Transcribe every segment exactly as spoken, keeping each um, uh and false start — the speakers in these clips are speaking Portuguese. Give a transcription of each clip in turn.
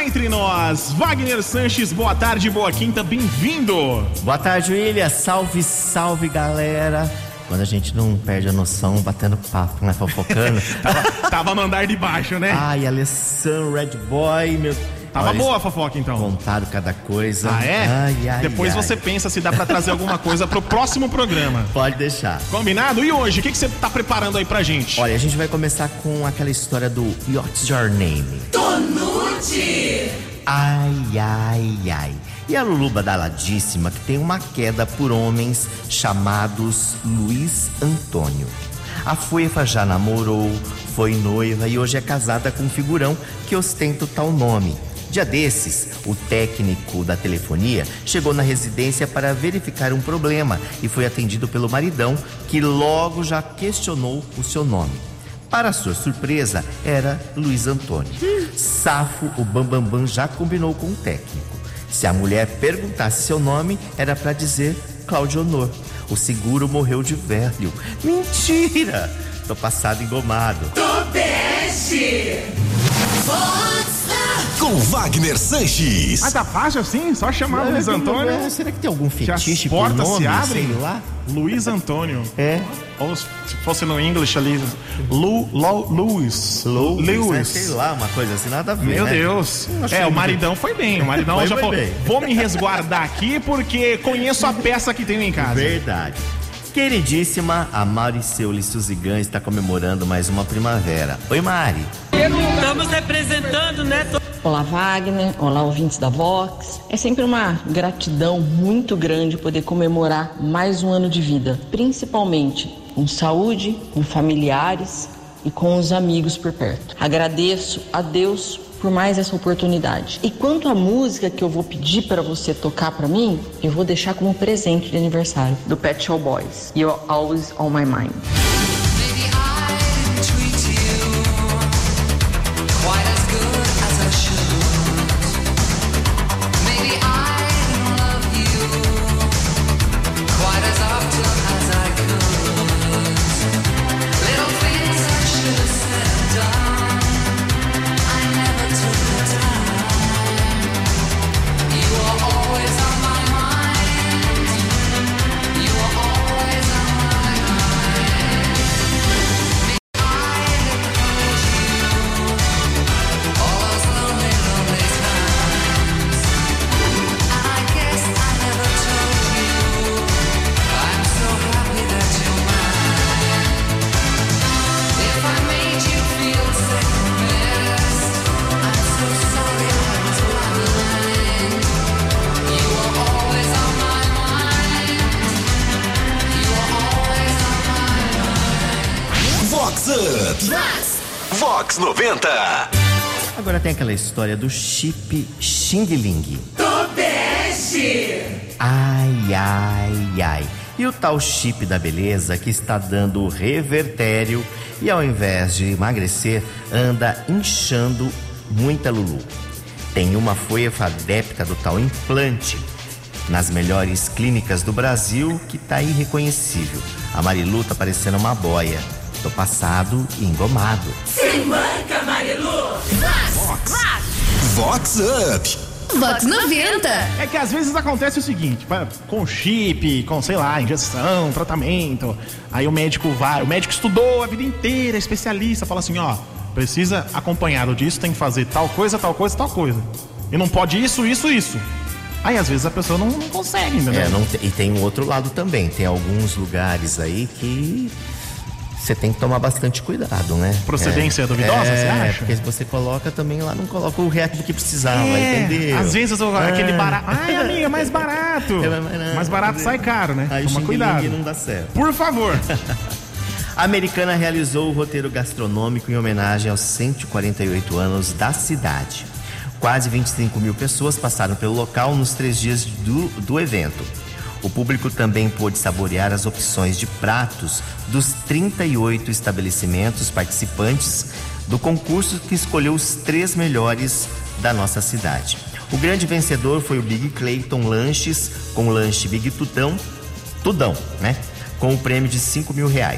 entre nós. Wagner Sanches, boa tarde, boa quinta, bem-vindo. Boa tarde, William. Salve, salve, galera. Quando a gente não perde a noção, batendo papo, né? Fofocando. tava, tava no andar de baixo, né? Ai, Alessandro, Red Boy, meu... Tava Olha, boa a fofoca, então. Contado cada coisa. Ah, é? Ai, ai, Depois ai. você pensa se dá pra trazer alguma coisa pro próximo programa. Pode deixar. Combinado? E hoje, o que, que você tá preparando aí pra gente? Olha, a gente vai começar com aquela história do What's Your Name? Tonute! Ai, ai, ai. E a Lulu badaladíssima que tem uma queda por homens chamados Luiz Antônio. A Fuefa já namorou, foi noiva e hoje é casada com um figurão que ostenta o tal nome. Dia desses, o técnico da telefonia chegou na residência para verificar um problema e foi atendido pelo maridão, que logo já questionou o seu nome. Para sua surpresa, era Luiz Antônio. Safo, o Bambambam já combinou com o técnico. Se a mulher perguntasse seu nome, era para dizer Cláudio Honor. O seguro morreu de velho. Mentira! Tô passado engomado. Tobeste! Com Wagner Sanches. Ah, tá fácil assim? Só chamar Luiz Antônio? É, será que tem algum fetiche que as por portas nome, se abrem? sei lá? Luiz Antônio. É. Ou se fosse no English ali, Lu, Lu, Lewis. Louis, Lewis. né? Sei lá, uma coisa assim, nada a ver, Meu né? Deus. achei É, o muito- maridão foi bem. O maridão Foi já bem falou, bem. vou me resguardar aqui porque conheço a peça que tenho em casa. Verdade. Queridíssima, a Mariceu Suzigan está comemorando mais uma primavera. Oi, Mari. Estamos representando, né? Olá, Wagner. Olá, ouvintes da Vox. É sempre uma gratidão muito grande poder comemorar mais um ano de vida, principalmente com saúde, com familiares e com os amigos por perto. Agradeço a Deus por mais essa oportunidade. E quanto à música que eu vou pedir para você tocar para mim, eu vou deixar como presente de aniversário do Pet Shop Boys. You're Always on My Mind. Vox Up. Vox noventa. Agora tem aquela história do chip Xing Ling. Tobeste! Ai, ai, ai. E o tal chip da beleza que está dando revertério e ao invés de emagrecer, anda inchando muita Lulu. Tem uma foifa adepta do tal implante nas melhores clínicas do Brasil que tá irreconhecível. A Marilu tá parecendo uma boia. Tô passado e engomado. Se manca, Marilu! Vox. Vox Up. Vox noventa. É que às vezes acontece o seguinte, pa- com chip, com, sei lá, injeção, tratamento. Aí o médico vai, o médico estudou a vida inteira, é especialista, fala assim, ó, precisa acompanhado disso, tem que fazer tal coisa, tal coisa, tal coisa. E não pode isso, isso, isso. Aí às vezes a pessoa não, não consegue, entendeu? É, não te- e tem um outro lado também. Tem alguns lugares aí que você tem que tomar bastante cuidado, né? Procedência é, duvidosa, é, você acha? Porque se você coloca também lá, não coloca o resto que precisava, É, entendeu? às vezes eu- aquele Ah. barato. Ai, amiga, mais barato. É, mais barato. Mais barato sai caro, né? Aí o Toma Xing cuidado. Ling não dá certo. Por favor. A Americana realizou o roteiro gastronômico em homenagem aos cento e quarenta e oito anos da cidade. Quase vinte e cinco mil pessoas passaram pelo local nos três dias do, do evento. O público também pôde saborear as opções de pratos dos trinta e oito estabelecimentos participantes do concurso que escolheu os três melhores da nossa cidade. O grande vencedor foi o Big Clayton Lanches, com o lanche Big Tutão, Tudão, né? Com o prêmio de cinco mil reais.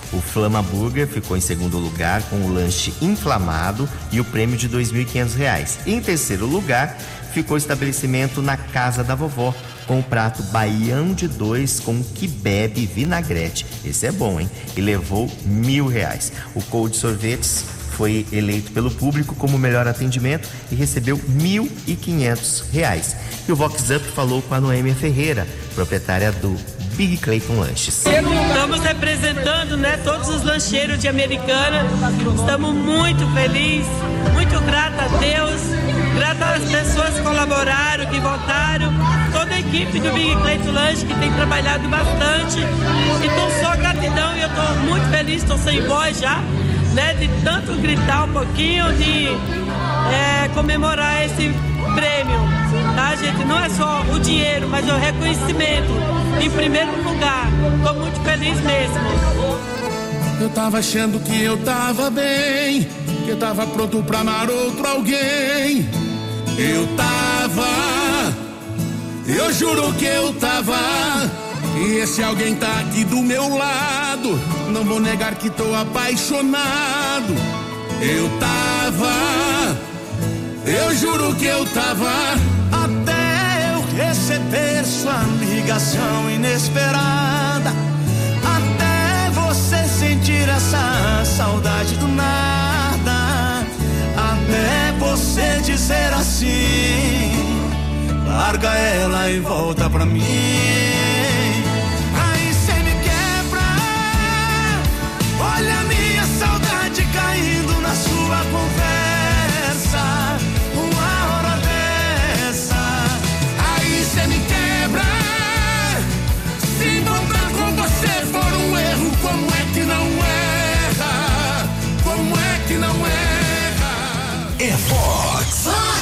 O Flama Burger ficou em segundo lugar com o lanche inflamado e o prêmio de dois mil e quinhentos reais. Em terceiro lugar, ficou o estabelecimento Na Casa da Vovó, com o prato baião de dois com quibebe e vinagrete. Esse é bom, hein? E levou mil reais. O Cold Sorvetes foi eleito pelo público como melhor atendimento e recebeu mil e quinhentos reais. E o Vox Up falou com a Noêmia Ferreira, proprietária do Big Clayton Lanches. Estamos representando, né, todos os lancheiros de Americana. Estamos muito felizes, muito grata a Deus, grata às pessoas que colaboraram, que votaram, toda a equipe do Big Clayton Lanches que tem trabalhado bastante. Então só gratidão e eu estou muito feliz, estou sem voz já, né, de tanto gritar um pouquinho, de é, comemorar esse prêmio, tá, gente? Não é só o dinheiro, mas o reconhecimento em primeiro lugar. Tô muito feliz mesmo. Eu tava achando que eu tava bem, que eu tava pronto pra amar outro alguém. Eu tava, eu juro que eu tava, e esse alguém tá aqui do meu lado. Não vou negar que tô apaixonado. Eu tava, eu juro que eu tava, até eu receber sua ligação inesperada, até você sentir essa saudade do nada, até você dizer assim, larga ela e volta pra mim. Aí cê me quebra, olha a minha saudade caindo na sua conversa. Uma hora dessa, aí cê me quebra. Se voltar com você for um erro, como é que não erra? Como é que não erra? É Vox.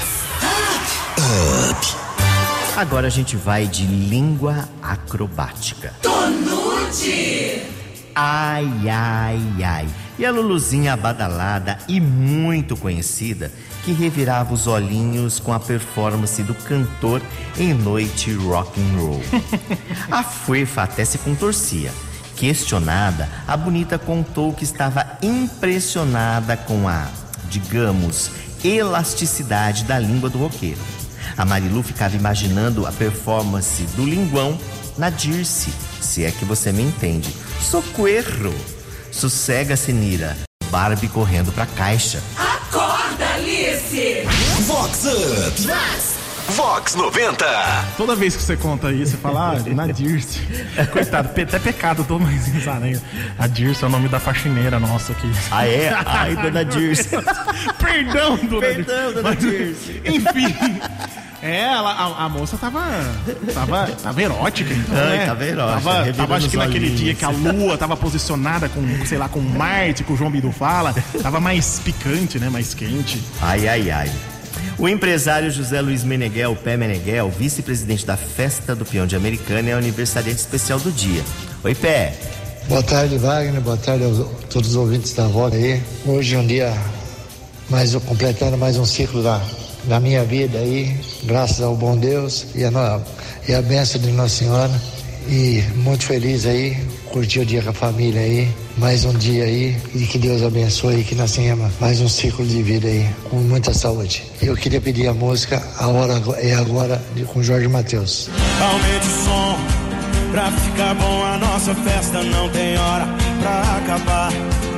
Vox Up. Agora a gente vai de língua acrobática. Tonute. Ai, ai, ai. E a Luluzinha badalada e muito conhecida, que revirava os olhinhos com a performance do cantor em noite rock and roll. A Fuefa até se contorcia. Questionada, a bonita contou que estava impressionada com a, digamos, elasticidade da língua do roqueiro. A Marilu ficava imaginando a performance do linguão na Dirce, se é que você me entende. Socorro! Sossega-se, Nira. Barbie correndo pra caixa. Acorda, Alice. Vox Up. Vox. Vox noventa. Toda vez que você conta isso, você fala, ah, na Dirce. Coitado, até pecado, tô mais risada ainda. A Dirce é o nome da faxineira nossa aqui. Ah, é? Ai, dona Dirce. Perdão, dona Perdão, dona Mas, Dirce. Enfim. É, ela, a, a moça tava, tava, tava erótica, então, Ai, né? tava erótica, Tava, tava acho que naquele olhinhos. dia que a lua tava posicionada com, sei lá, com Marte, que o João Bidu fala, tava mais picante, né? Mais quente. Ai, ai, ai. O empresário José Luiz Meneghel, Pé Meneghel, vice-presidente da Festa do Peão de Americana, é o aniversariante especial do dia. Oi, Pé. Boa tarde, Wagner. Boa tarde a todos os ouvintes da Vox aí. Hoje é um dia mais completando mais um ciclo da, da minha vida aí, graças ao bom Deus e a, no, e a bênção de Nossa Senhora. E muito feliz aí, curtir o dia com a família aí, mais um dia aí, e que Deus abençoe, que nós tenhamos mais um ciclo de vida aí, com muita saúde. Eu queria pedir a música A Hora é Agora, de, com Jorge Mateus. Aumente o som, pra ficar bom a nossa festa não tem hora pra acabar.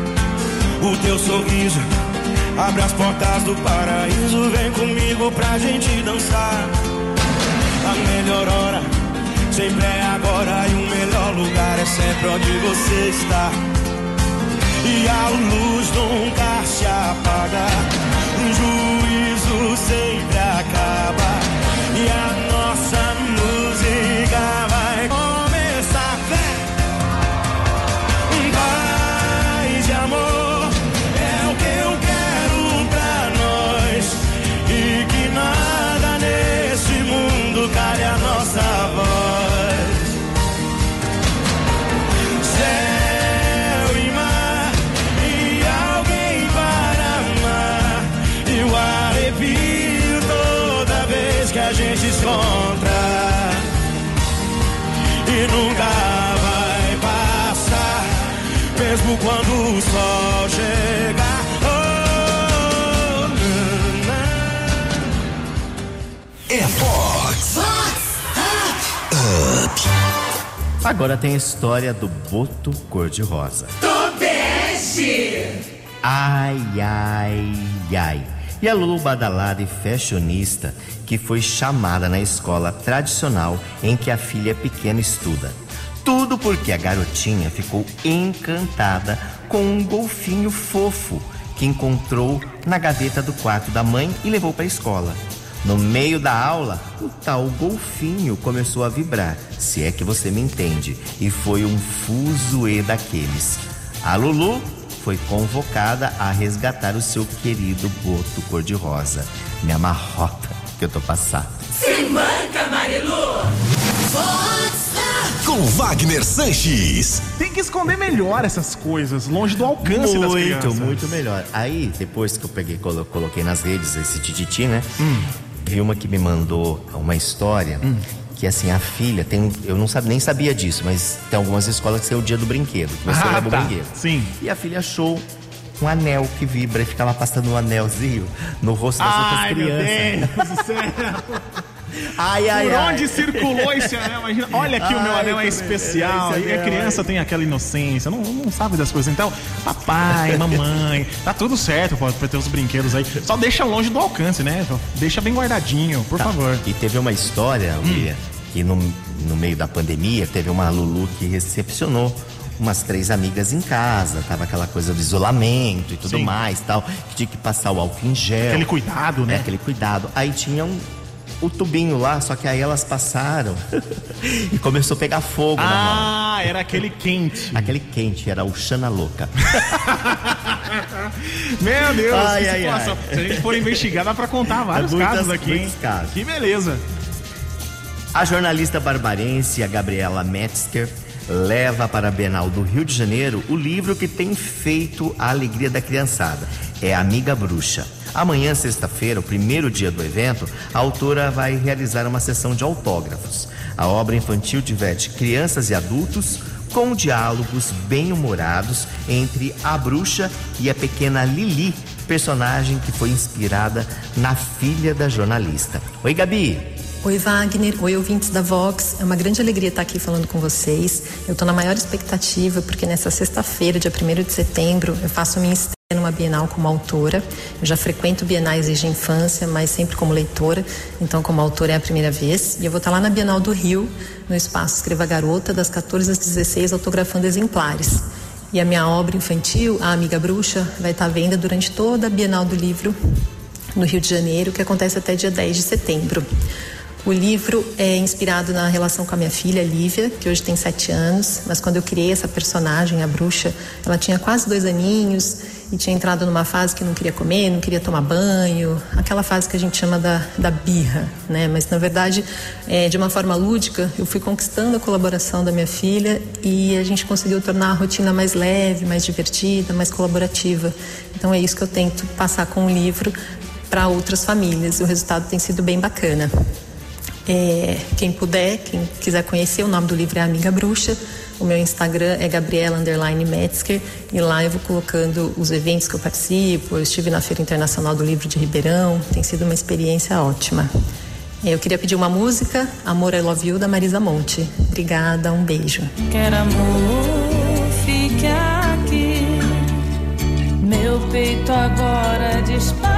O teu sorriso abre as portas do paraíso, vem comigo pra gente dançar. A melhor hora sempre é agora e o melhor lugar é sempre onde você está. E a luz nunca se apaga, o juízo sempre acaba e a nossa música vai começar. Paz e amor é o que eu quero pra nós, e que nada nesse mundo cale a nossa voz. Céu e mar e alguém para amar, e o arrepio todo mesmo quando o sol chegar. Oh, é Fox. Up. Agora tem a história do Boto Cor-de-Rosa. Tobeste! Ai, ai, ai. E a Lulu badalada e fashionista que foi chamada na escola tradicional em que a filha pequena estuda. Tudo porque a garotinha ficou encantada com um golfinho fofo que encontrou na gaveta do quarto da mãe e levou para a escola. No meio da aula, o tal golfinho começou a vibrar, se é que você me entende, e foi um fuzuê daqueles. A Lulu foi convocada a resgatar o seu querido Boto Cor-de-Rosa. Me amarrota que eu tô passado. Se manca, Marilu! Com Wagner Sanches. Tem que esconder melhor essas coisas, longe do alcance das crianças. Muito, muito melhor. Aí, depois que eu peguei, colo- coloquei nas redes esse tititi, né? Hum. Vi uma que me mandou uma história hum. que, assim, a filha tem... Eu não sabe, nem sabia disso, mas tem algumas escolas que é o dia do brinquedo. Que você ah, leva tá. o brinquedo. Sim. E a filha achou um anel que vibra e ficava passando um anelzinho no rosto das Ai, outras crianças. Ai, meu Deus do céu. Ai, ai, Por ai. onde circulou esse anel? Imagina, olha aqui, ai, o meu anel é especial. E a criança ai. tem aquela inocência, não, não sabe das coisas. Então, papai, mamãe, tá tudo certo, pode ter os brinquedos aí. Só deixa longe do alcance, né? Deixa bem guardadinho, por tá. favor. E teve uma história, William, hum. que no, no meio da pandemia teve uma Lulu que recepcionou umas três amigas em casa, tava aquela coisa do isolamento e tudo Sim. mais, tal, que tinha que passar o álcool em gel. Aquele cuidado, né? É, aquele cuidado. Aí tinha um o tubinho lá, só que aí elas passaram e começou a pegar fogo ah, na mão. Ah, era aquele quente. Aquele quente, era o Xana Louca. Meu Deus, ai, que ai, situação. ai. Se a gente for investigar, dá pra contar vários é muitas, casos aqui, hein? Casos. Que beleza. A jornalista barbarense, a Gabriela Metzger, leva para a Bienal do Rio de Janeiro o livro que tem feito a alegria da criançada. É Amiga Bruxa. Amanhã, sexta-feira, o primeiro dia do evento, a autora vai realizar uma sessão de autógrafos. A obra infantil diverte crianças e adultos com diálogos bem-humorados entre a bruxa e a pequena Lili, personagem que foi inspirada na filha da jornalista. Oi, Gabi! Oi, Wagner. Oi, ouvintes da Vox. É uma grande alegria estar aqui falando com vocês. Eu estou na maior expectativa porque nessa sexta-feira, dia primeiro de setembro, eu faço a minha estreia numa Bienal como autora. Eu já frequento bienais desde a infância, mas sempre como leitora. Então, como autora é a primeira vez. E eu vou estar lá na Bienal do Rio, no espaço Escreva Garota, das quatorze às dezesseis, autografando exemplares. E a minha obra infantil, A Amiga Bruxa, vai estar à venda durante toda a Bienal do Livro no Rio de Janeiro, que acontece até dia dez de setembro. O livro é inspirado na relação com a minha filha, Lívia, que hoje tem sete anos, mas quando eu criei essa personagem, a bruxa, ela tinha quase dois aninhos e tinha entrado numa fase que não queria comer, não queria tomar banho, aquela fase que a gente chama da, da birra, né? Mas, na verdade, é, de uma forma lúdica, eu fui conquistando a colaboração da minha filha e a gente conseguiu tornar a rotina mais leve, mais divertida, mais colaborativa. Então, é isso que eu tento passar com o livro para outras famílias. O resultado tem sido bem bacana. É, quem puder, quem quiser conhecer, o nome do livro é Amiga Bruxa. O meu Instagram é Gabriela underline Metzger e lá eu vou colocando os eventos que eu participo. Eu estive na Feira Internacional do Livro de Ribeirão, tem sido uma experiência ótima. Eu queria pedir uma música, Amor I Love You, da Marisa Monte. Obrigada, um beijo. Quero amor, fique aqui. Meu peito agora dispara.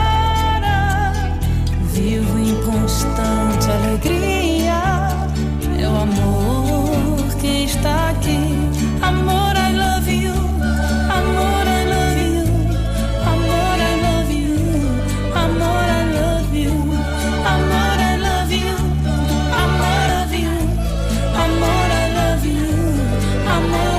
Vivo em constante alegria. É o amor que está aqui. Amor, I love you. Amor, I love you. Amor, I love you. Amor, I love you. Amor, I love you. Amor, I love you. Amor, I love you. Amor,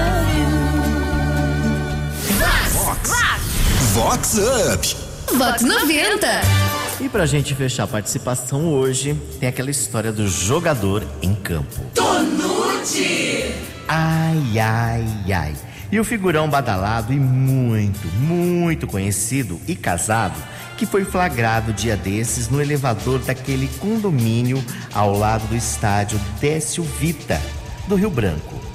I love you. Vox. Vox Up. Vox noventa. E pra gente fechar a participação hoje, tem aquela história do jogador em campo. Tonute! Ai, ai, ai. E o figurão badalado e muito, muito conhecido e casado, que foi flagrado dia desses no elevador daquele condomínio ao lado do estádio Décio Vita, do Rio Branco.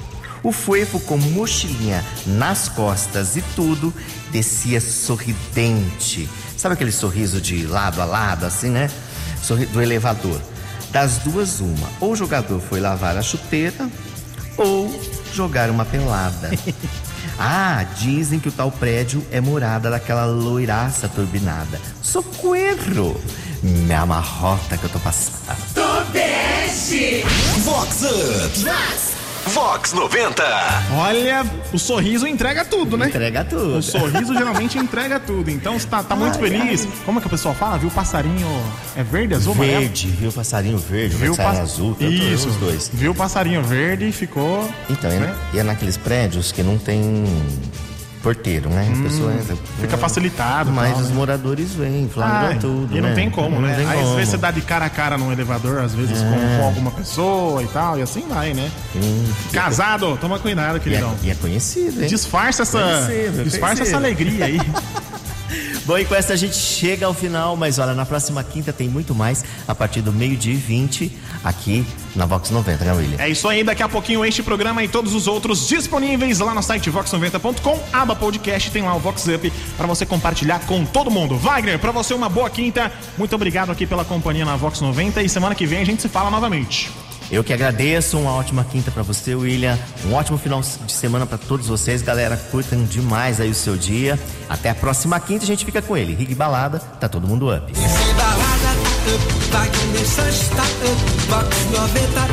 O Fuefo, com mochilinha nas costas e tudo, descia sorridente. Sabe aquele sorriso de lado a lado, assim, né? Sorri- do elevador. Das duas, uma. Ou o jogador foi lavar a chuteira, ou jogar uma pelada. Ah, dizem que o tal prédio é morada daquela loiraça turbinada. Socorro! Me amarrota que eu tô passando. Tobeste! Vox Up. Vox noventa. Olha, o sorriso entrega tudo, né? Entrega tudo. O sorriso geralmente entrega tudo. Então você tá, tá muito Ai, feliz. ai. Como é que o pessoal fala? Viu o passarinho. É verde, azul, amarelo? Verde, viu o passarinho verde, Viu o passarinho pass- azul, tanto Isso. os dois. Viu o passarinho verde e ficou. Então, né? e é naqueles prédios que não tem porteiro, né? A pessoa entra, Fica facilitado. mas tal, os né? moradores vêm, flagram Ah, tudo, e não né? tem como, né? tem Aí às como. vezes você dá de cara a cara num elevador, às vezes É. com, com alguma pessoa e tal, e assim vai, né? Hum, Casado, toma cuidado, e, é, queridão. e é conhecido, hein? Disfarça essa, Conhecido, disfarça conhecido. essa alegria aí. Bom, e com essa a gente chega ao final, mas olha, na próxima quinta tem muito mais, a partir do meio-dia e vinte, aqui na Vox noventa, né, William? É isso aí, daqui a pouquinho este programa e todos os outros disponíveis lá no site vox noventa ponto com, aba podcast, tem lá o Vox Up para você compartilhar com todo mundo. Wagner, para você uma boa quinta, muito obrigado aqui pela companhia na Vox noventa e semana que vem a gente se fala novamente. Eu que agradeço, uma ótima quinta pra você, William. Um ótimo final de semana pra todos vocês. Galera, curtam demais aí o seu dia. Até a próxima quinta, a gente fica com ele. Rig Balada, tá todo mundo up. Balada tá up, Wagner Sanches tá up, Vox noventa